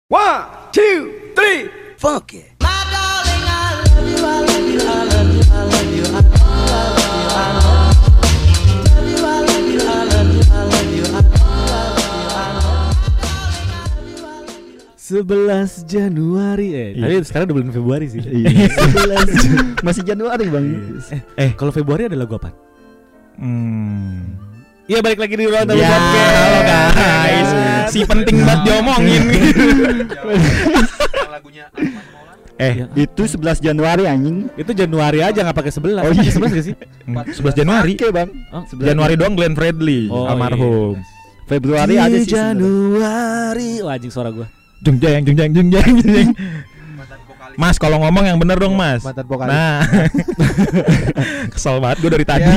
One, two, three, funk it. My darling, I love you, I love you, I love you, I love you, I love you, I love you, I love you, I love you, I love you, I love you, I love you. 11 Januari tapi sekarang udah bulan Februari sih. 11 masih Januari bang. Kalau Februari ada lagu apa? Iya, balik lagi di Ruang Tamu Ya, Podcast. halo guys. Si penting banget diomongin. Itu 11 Januari anjing. Itu Januari aja nggak pakai 11. Oh, iya. Pakai 11 gak sih? 11 Januari. Oke bang. Oh, Januari doang Glenn Fredly almarhum. Februari ada sih. Januari. Wah, anjing suara gua. Jeng. Mas, kalau ngomong yang bener dong, Mas. Mantan vokalis. Nah. Kesel banget gue dari tadi.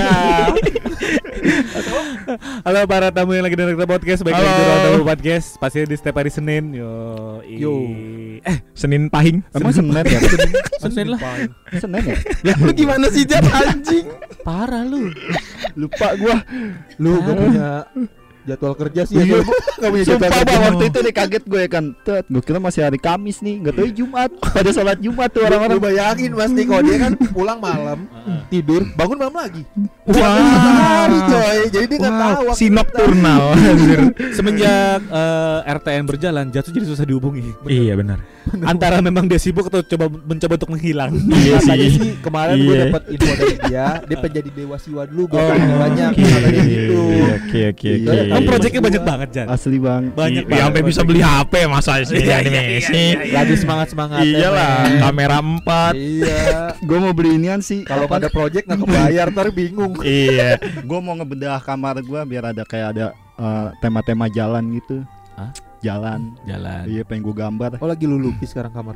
Halo para tamu yang lagi dengerin podcast, baik lagi di Ruang Tamu Podcast. Pasti di setiap hari Senin. Yo. Senin Pahing. Emang Senin ya? Senin lah. Senin ya? Lu gimana sih Jat anjing? Parah lu. Lupa gua. Lu gak punya jadwal kerja sih Iya, ya. Gak punya jadwal Sumpah kerja. bang, waktu itu nih kaget gue ya kan. Gue kira masih hari Kamis nih, nggak tahu Jumat. Pada sholat Jumat tuh orang-orang. Lu bayangin Mas nih kalau dia kan pulang malam, tidur, bangun malam lagi. Wah. Hari coy. Jadi dia enggak tahu waktu Si nocturnal. Semenjak RTN berjalan, Jatuh jadi susah dihubungi. Iya benar. Antara memang dia sibuk atau mencoba untuk menghilang. Iya Katanya sih. sih kemarin gue Iya. dapat info dari dia penjadi dewa siwa dulu biar Oh, oh, banyak Oke. katanya gitu. Oke. Iya. Kan proyeknya banyak banget, Jan. Asli bang. Banyak Iya, sampai bisa beli HP masa sih animasi. Lagi semangat-semangatnya. Iyalah, men. kamera 4. Iya. Gue mau beli inian sih. Kalau nggak ada project nggak kebayar ntar bingung. Iya. Gue mau ngebedah kamar gue biar ada kayak ada tema-tema jalan gitu. Hah? Jalan. Iya, pengen gue gambar. Oh lagi lu lukis sekarang kamar.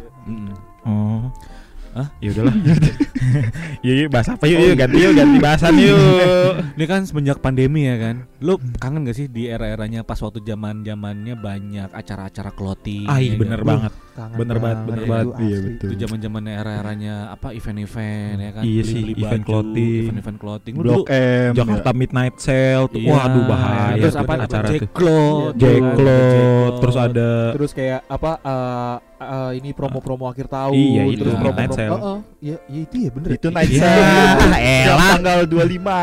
Oh. Hah? Ya udahlah. Yuk, bahas apa yuk? Ganti bahasan yuk. Ini kan semenjak pandemi ya kan. Lu kangen gak sih di era-eranya pas waktu zamannya banyak acara-acara clothing? Ah, iya ya bener kan? banget. Kangen Bener banget. itu Iya, asli. betul. Itu zaman-zamannya era-eranya apa event-event ya kan. Iya sih, Beli-beli event baju, clothing. event-event clothing. Lu Blok dulu M. Jakarta Midnight Sale tuh. iya. Waduh bahaya. Terus tuh apa acara tuh. J-Cloth, J-Cloth, terus ada Terus kayak apa ini promo-promo akhir tahun. Iya, itu, terus Night promo-promo. Sale. Iya itu ya bener. Itu night Iya, sale. Yang elah. tanggal 25.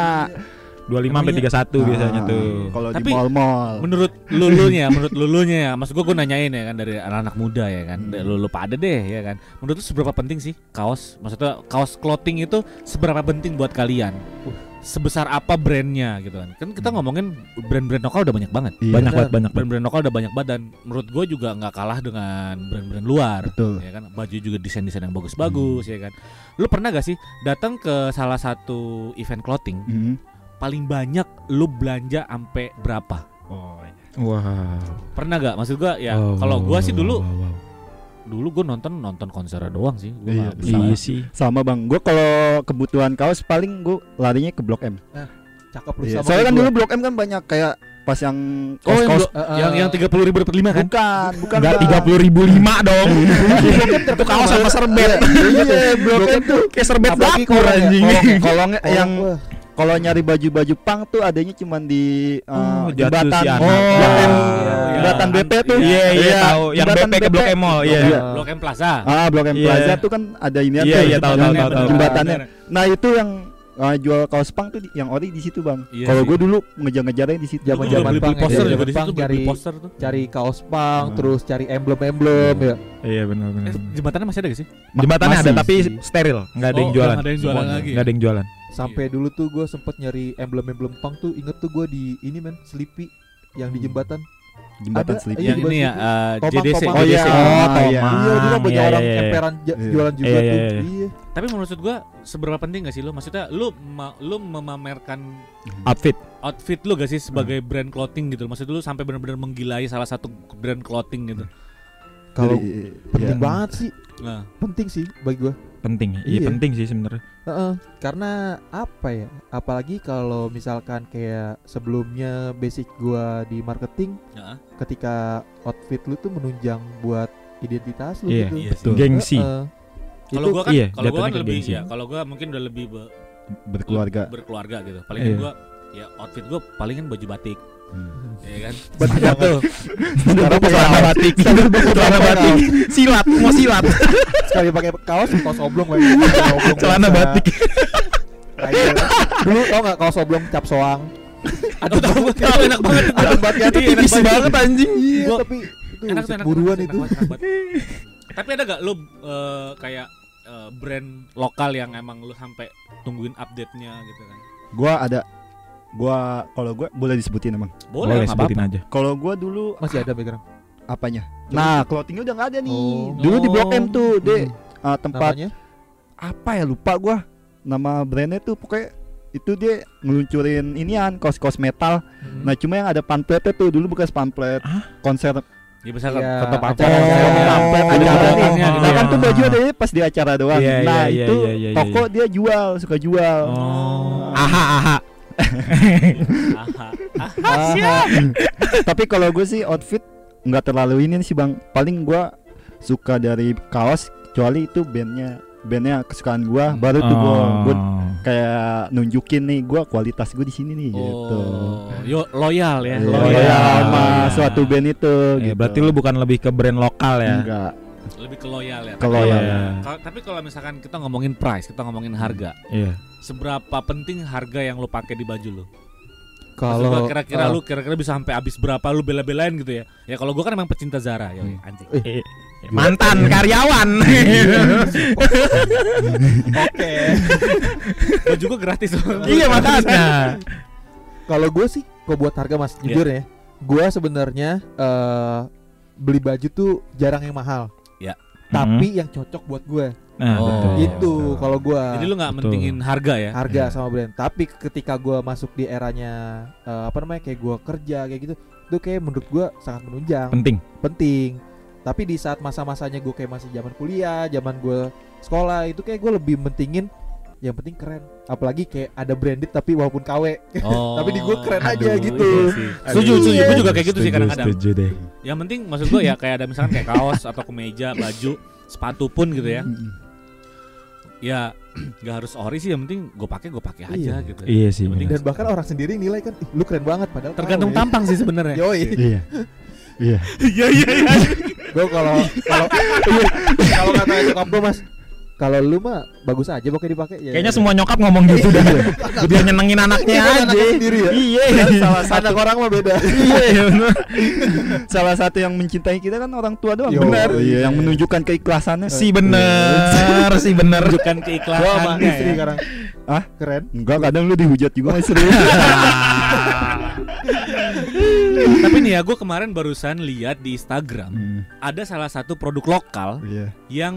25 sampai 31 biasanya tuh. Kalau di Tapi mall-mall. menurut lulunya ya, maksud gue nanyain ya kan dari anak-anak muda ya kan, lu pada deh ya kan. Menurut lu seberapa penting sih kaos? Maksudnya kaos clothing itu seberapa penting buat kalian? Sebesar apa brandnya gitu kan? Kan kita ngomongin brand-brand lokal udah banyak banget. Iya. Banyak banget. Brand-brand lokal udah banyak banget dan menurut gue juga nggak kalah dengan brand-brand luar. Betul. Ya kan, baju juga desain-desain yang bagus-bagus ya kan. Lu pernah gak sih datang ke salah satu event clothing? Paling banyak lu belanja sampai berapa? Wow. Pernah gak? Maksud gua ya kalau gua sih dulu gua nonton konser doang sih. Gua Iya, nggak berusaha. Iya sih. Sama bang, gue kalau kebutuhan kaos paling gue larinya ke Blok M. Cakep lu Iya. sama Soalnya kan gua. dulu Blok M kan banyak kayak pas yang Oh, kaos-kaos. yang 30.000 dapat 5 kan? Bukan Enggak Bang. 30.005 dong. Itu kaos sama serbet. Iya, Blok M tuh Kayak serbet Apalagi dapur kolong ya, anjing. kolong yang wah. kalau nyari baju-baju pang tuh adanya cuman di Jatuh jembatan si anak. Blok M. Iya. Jembatan BP tuh. Iya, tahu. Yang jembatan BP ke Blok M Mall, iya. Iya. Blok M Plaza. Blok M Iya. Plaza tuh kan ada ini Iya, tahu. jembatannya. Nah, itu yang jual kaos pang tuh yang ori di situ, Bang. Iya Kalau sih. gue dulu ngejar-ngejarnya di situ. Zaman- Gua zaman beli pang ya, poster zaman juga di pang situ, beli cari- poster tuh. Cari kaos pang, terus cari emblem-emblem ya. Iya benar. Jembatannya masih ada gak sih? Jembatannya ada Masih tapi sih. steril, enggak ada yang Oh, jualan. nggak ada yang jualan lagi. Enggak ada yang jualan. Sampai dulu tuh gue sempet nyari emblem-emblem pang tuh, inget tuh gue di ini men, Sleepy yang di jembatan. Jembatan Ada, Sleepy. iya. Yang ini ya JDC. Tomang. Oh, iya. JDC. Oh, iya. Iya, dulu banyak iya, orang iya, iya. emperan Iya. jualan juga Iya, tuh. iya, iya. Iya. Tapi menurut gua seberapa penting gak sih lu? Maksudnya lu memamerkan Outfit. outfit lu gak sih sebagai brand clothing gitu? Maksud lu sampai benar-benar menggilai salah satu brand clothing gitu? Kalau Jadi, penting iya. banget sih, Nah, penting sih bagi gue. Penting. Iya, Iya. penting sih sebenarnya. Karena apa ya? Apalagi kalau misalkan kayak sebelumnya basic gua di marketing, ya. ketika outfit lu tuh menunjang buat identitas lu Iya, gitu. iya sih. Betul. Gengsi. Kalau Itu gua kan iya, kalau gua kan jatuhnya ke lebih gengsi. ya, kalau gua mungkin udah lebih Berkeluarga. berkeluarga gitu. Paling Iya. gua ya outfit gua palingan baju batik. Ya kan? Betul tuh. Sekarang pakai celana batik. Celana batik. Silat, mau silat. Sekali pakai kaos oblong lagi. Celana batik. Dulu tau nggak kaos oblong cap soang? Aduh tahu enak banget. Enak banget ya, Itu Iya, enak tipis banget anjing. Iya, Gua- tapi itu Enak tuh, enak buruan enak itu. banget, enak banget. Tapi ada gak lu kayak brand lokal yang emang lu sampai tungguin update-nya gitu kan? Kalau gua boleh disebutin emang. Boleh nggak sebutin apa-apa. aja. Kalau gua dulu Masih ada background. apanya? Nah, clothingnya udah nggak ada nih. Oh. Dulu di Blok M tuh, Hmm. tempat Namanya? apa ya lupa gua. Nama brandnya tuh pokoknya itu dia ngeluncurin inian kaos-kaos metal. Nah, cuma yang ada pamfletnya tuh dulu bekas pamflet konser. Ya bisa Iya, foto acara- pacar. Pamflet ada acara nih. fotonya gitu Nah, ya. kan tuh baju ada pas di acara doang. Iya, Nah, iya, itu iya, iya, iya, toko dia suka jual. Oh. Aha. Tapi kalau gue sih outfit nggak terlalu ini sih bang. Paling gue suka dari kaos, kecuali itu bandnya kesukaan gue. Baru tuh gue kayak nunjukin nih gue kualitas gue di sini nih gitu. Yo loyal ya. Loyal sama Iya. suatu band itu. Gitu. Berarti lu bukan lebih ke brand lokal ya? Enggak. Lebih ke loyal ya. Ke loyal. Iya. Tapi kalau misalkan kita ngomongin price, kita ngomongin harga. Iya. Seberapa penting harga yang lu pakai di baju lu? Kalau Maksud gua kira-kira bisa sampai habis berapa lu bela-belain gitu ya. Ya kalau gua kan emang pecinta Zara ya, anjing. Mantan karyawan. oke. Baju gua gratis. Iya makanya. Kalau gue sih, kok buat harga mas, jujur ya, gue sebenarnya beli baju tuh jarang yang mahal. Ya. Tapi yang cocok buat gue. Nah, Oh. betul. Itu kalau gue Jadi lu nggak Betul. mentingin harga ya? harga sama brand. Tapi ketika gue masuk di eranya kayak gue kerja kayak gitu, itu kayak menurut gue sangat menunjang, penting. Tapi di saat masa-masanya gue kayak masih zaman kuliah, zaman gue sekolah, itu kayak gue lebih mentingin yang penting keren. Apalagi kayak ada branded tapi walaupun KW. Oh. Tapi di gua keren aja Aduh, gitu. iya sih. Setuju, Iya. gue juga kayak gitu sih kadang-kadang. Setuju deh. Yang penting maksud gue ya kayak ada misalkan kayak kaos atau kemeja, baju, sepatu pun gitu ya. Ya nggak harus ori sih, yang penting gue pakai aja gitu. Iya sih. Yang penting Dan bahkan orang sendiri nilai kan, "Ih, lu keren banget," padahal tergantung KW. tampang sih sebenarnya. Yoi. Iya. Iya. Iya iya iya. Gue kalau kata nyokap gue mas, kalau lu mah bagus aja pokoknya dipakai ya. Kayaknya semua nyokap ngomong gitu dah. Biar nyenengin anaknya Iya, aja. anaknya sendiri ya. Iya. salah satu orang mah beda. Iya benar. Salah satu yang mencintai kita kan orang tua doang. Yo, Benar. iya. Yang menunjukkan keikhlasannya. Si bener. Bukan Gua sama keikhlasannya istri ya. sekarang. Ah? Keren. Enggak, kadang lu dihujat juga mas serius. Tapi nih ya, gue kemarin barusan lihat di Instagram ada salah satu produk lokal Iya. yang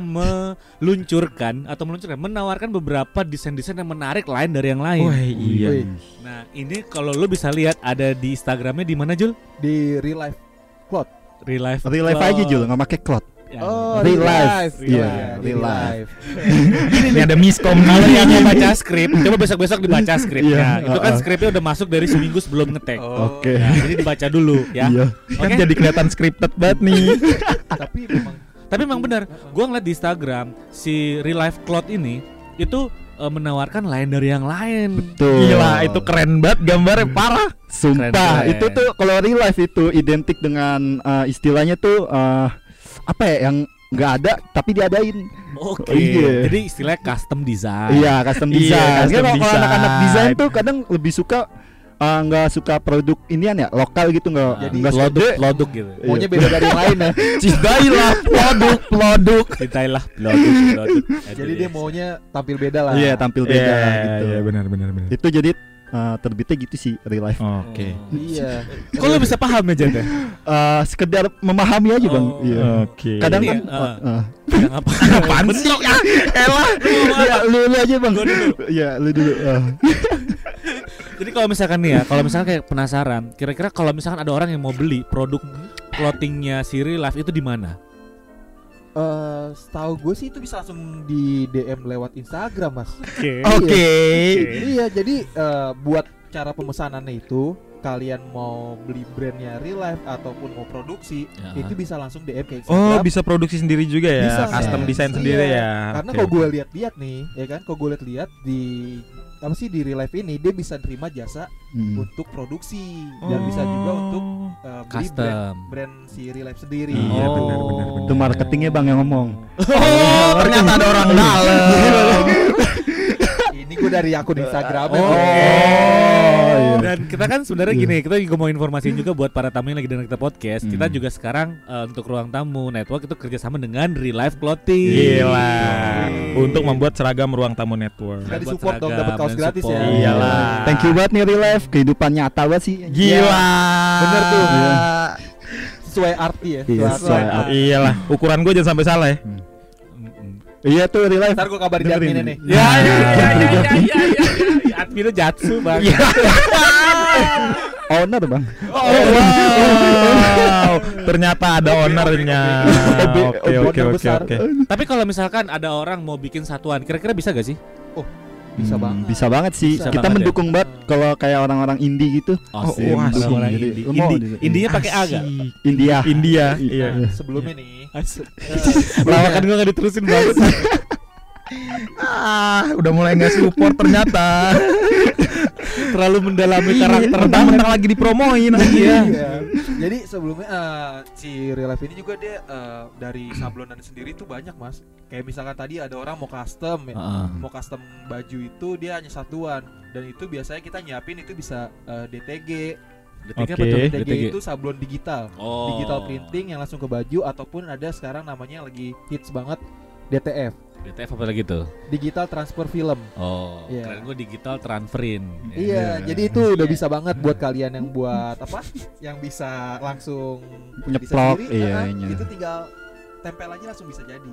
menawarkan beberapa desain-desain yang menarik lain dari yang lain. Wah iya. Wih, Nah ini kalau lu bisa lihat ada di Instagramnya di mana Jul? di real life cloth. Real life. Real life aja Jul, nggak pakai cloth. Ya. Oh, Real life. Iya, Iya, di real life. Ini ada miskom. Kalau yang mau baca skrip, coba besok-besok dibaca skripnya. Iya, Itu kan skripnya udah masuk dari seminggu sebelum ngetek. Oke. Ya, jadi dibaca dulu ya. Iya. Kan jadi kelihatan scripted banget nih. Tapi memang Tapi emang benar, gua ngeliat di Instagram si Real Life Cloth ini itu menawarkan lain dari yang lain. Tuh. Gila, itu keren banget gambarnya parah. Sumpah, Keren. itu tuh kalau real life itu identik dengan istilahnya tuh apa ya yang nggak ada tapi diadain. Oke. Iya. Jadi istilahnya custom design. Iya, custom Iya, design. custom Kan kalau design. anak-anak desain tuh kadang lebih suka nggak suka produk inian ya lokal gitu nggak Jadi nggak Produk gitu. maunya beda dari yang lain ya. Cintailah produk. Cintailah produk. Jadi dia maunya tampil beda lah. Iya tampil beda gitu. Iya benar. Itu jadi terbitnya gitu sih real life. Oke. Iya. Kok lu bisa paham aja deh? Sekedar memahami aja bang. Oh. Iya. Oke. Kadang Ini, kan Kadang apa? apaan sih? Elah. ya, lu aja bang. Gua dulu. Iya lu dulu. Jadi kalau misalkan nih ya, kalau misalkan kayak penasaran, kira-kira kalau misalkan ada orang yang mau beli produk clothingnya si Real Life itu di mana? Setahu gue sih itu bisa langsung di DM lewat Instagram mas. Oke. Oke. Iya, jadi buat cara pemesanannya itu kalian mau beli brandnya Real Life ataupun mau produksi, Ya. itu bisa langsung DM ke Oh, Instagram. bisa produksi sendiri juga ya. Bisa, Custom Mas. desain Iya. sendiri ya. Karena Oke. kalau gue lihat-lihat nih, ya kan, kalau gue lihat-lihat di apa sih di Real Life ini dia bisa terima jasa untuk produksi dan bisa juga untuk beli brand si Real Life sendiri. Iya benar. Itu marketingnya Bang yang ngomong. Oh, ternyata ada orang dalam. Ini gue dari akun Instagram. Iya. Dan kita kan sebenarnya gini, kita juga mau informasiin juga buat para tamu yang lagi dengar kita podcast. Kita juga sekarang untuk Ruang Tamu Network itu kerjasama dengan Real Life Clothing. Gila. Untuk membuat seragam Ruang Tamu Network. Kita disupport dong, dapat kaos gratis ya. Iyalah. Thank you banget nih Real Life, kehidupan nyata banget sih. Gila. Bener tuh. Iya. Sesuai arti ya. Iya, sesuai arti. Iyalah, ukuran gue jangan sampai salah ya. Iya tuh Real Life. Ntar gue kabarin di adminnya nih. Ya. Adminnya Jatsu Bang. Owner Bang. Wow. Ternyata ada ownernya. Oke. Tapi kalau misalkan ada orang mau bikin satuan, kira-kira bisa gak sih? Bisa banget. Bisa banget sih. Bisa Kita banget mendukung banget kalau kayak orang-orang indie gitu. Asik, mendukung. orang Jadi, indie. lu mau Indinya pakai A gak? India. Iya. Sebelumnya nih. Lawakan gue gak diterusin banget. Udah mulai nggak support ternyata. Terlalu mendalami karakter. Mentang-mentang lagi dipromoin. Iya. Jadi sebelumnya si Real Life ini juga dia dari sablonan sendiri tuh banyak mas. Kayak misalkan tadi ada orang mau custom ya, mau custom baju itu dia hanya satuan dan itu biasanya kita nyiapin itu bisa DTG. DTG itu sablon digital, digital printing yang langsung ke baju ataupun ada sekarang namanya lagi hits banget DTF. DTF apa lagi tuh? Digital transfer film. Keren gue digital transferin. Iya, jadi itu udah bisa banget buat kalian yang buat apa? Yang bisa langsung nyeplok, itu tinggal tempel aja langsung bisa jadi.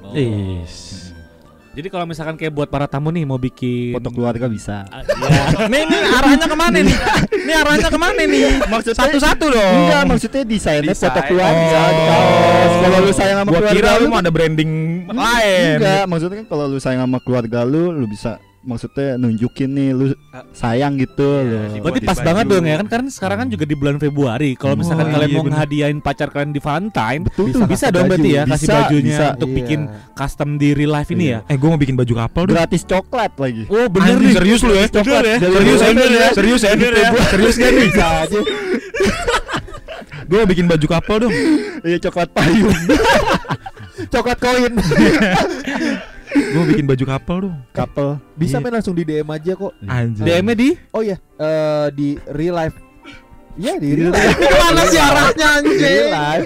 Jadi kalau misalkan kayak buat para tamu nih mau bikin foto keluarga bisa. Nih arahnya kemana nih? Ini arahnya kemana nih? Maksud satu-satu dong. Enggak, maksudnya desainnya foto keluarga di kaos. Kalau lu sayang sama keluarga kira lu mau ada branding lain. Enggak, maksudnya kan kalau lu sayang sama keluarga lu bisa maksudnya nunjukin nih lu sayang gitu loh. Berarti pas banget dong ya kan, karena sekarang kan juga di bulan Februari. Kalau misalkan kalian mau ngehadiahin pacar kalian di Valentine, bisa dong berarti ya kasih bajunya untuk bikin custom di Real Life ini ya. Gue mau bikin baju kapal dong. Gratis coklat lagi. Oh bener nih. Serius lu ya? Coklat ya. Serius ya? Serius kan nih? Bisa aja. Gue mau bikin baju kapal dong. Iya, coklat payung. Coklat koin. Gue bikin baju kapal dong. Kapal. Bisa main langsung di DM aja kok. Anjir. DM-nya di? Oh iya, di Real Life. Iya di Real Life. Mana sih arahnya anjing? Real Life.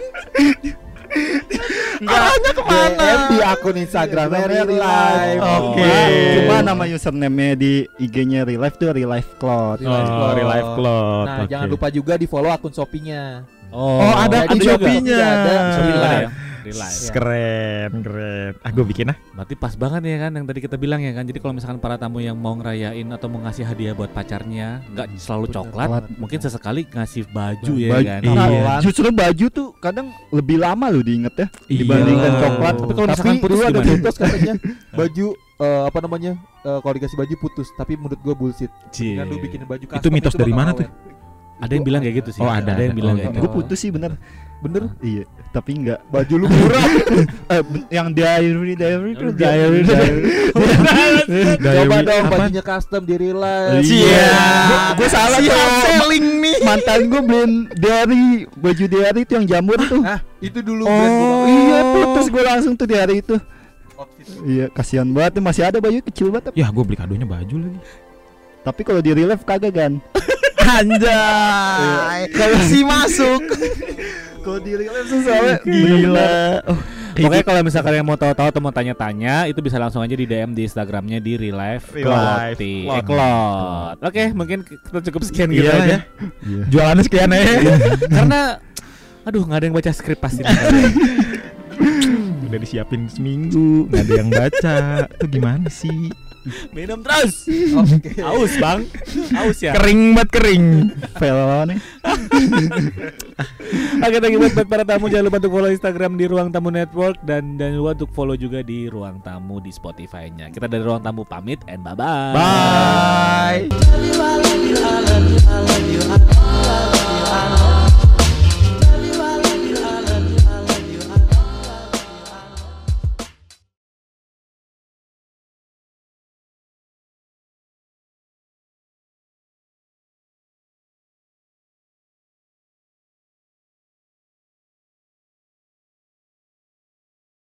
Arahnya kemana? DM di akun Instagramnya Real Life. Oke. Cuma nama username-nya di IG-nya Real Life tuh Real Life Cloth. Real Life Cloth. Nah, jangan lupa juga di follow akun Shopee-nya. Ada Shopee-nya. Ada Shopee ya. Real Life. Keren. Gue bikin Berarti pas banget ya kan yang tadi kita bilang ya kan. Jadi kalau misalkan para tamu yang mau ngerayain atau mau ngasih hadiah buat pacarnya, nggak selalu coklat, mungkin sesekali ngasih baju ya kan. Nah, justru baju tuh kadang lebih lama loh diinget ya dibandingkan coklat. Tapi kalau misalkan putus dulu ada gimana? mitos katanya baju kalau dikasih baju putus, tapi menurut gue bullshit. Kan lu bikinin baju custom itu mitos dari bakal mana awet. tuh? Ada yang bilang kayak gitu sih. Ada yang bilang kayak gitu. Gue putus sih bener. Iya, tapi enggak. Baju lu murah. Yang diary. Coba dong bajunya custom di Real Life. Gue salah tuh. Selling nih. Mantan gue beliin diary, baju diary itu yang jamur tuh. Itu dulu brand gua. Iya, putus gue langsung tuh di hari itu. Outfit. Iya, kasihan banget, masih ada baju kecil banget. Ya gue beli kadonya baju lagi. Tapi kalau di Real Life kagak kan. Anjay. Kalau si masuk. Kalau di Real Life soalnya Gila. Pokoknya kalau misalkan yang mau tahu-tahu atau mau tanya-tanya, itu bisa langsung aja di DM di Instagramnya di Real Life Clothing. Oke, mungkin kita cukup sekian gitu aja. Jualannya sekian ya. Karena aduh nggak ada yang baca skrip pasti. Udah disiapin seminggu, nggak ada yang baca. Tuh gimana sih? Minum terus. Oke. Aus bang, aus ya. Kering banget kering. fail nih. Oke, thank you buat para tamu. Jangan lupa untuk follow Instagram di Ruang Tamu Network dan jangan lupa untuk follow juga di Ruang Tamu di Spotify-nya. Kita dari Ruang Tamu pamit and bye-bye. Bye. I love you, I love you, I love you, I love you, I love you, I love you.